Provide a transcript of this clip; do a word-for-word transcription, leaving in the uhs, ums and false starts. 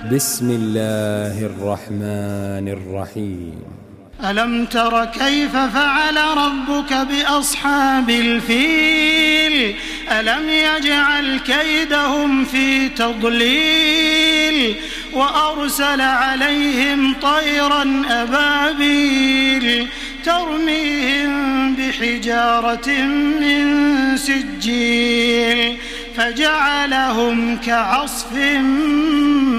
بسم الله الرحمن الرحيم. ألم تر كيف فعل ربك بأصحاب الفيل ألم يجعل كيدهم في تضليل وأرسل عليهم طيرا أبابيل ترميهم بحجارة من سجيل فجعلهم كعصف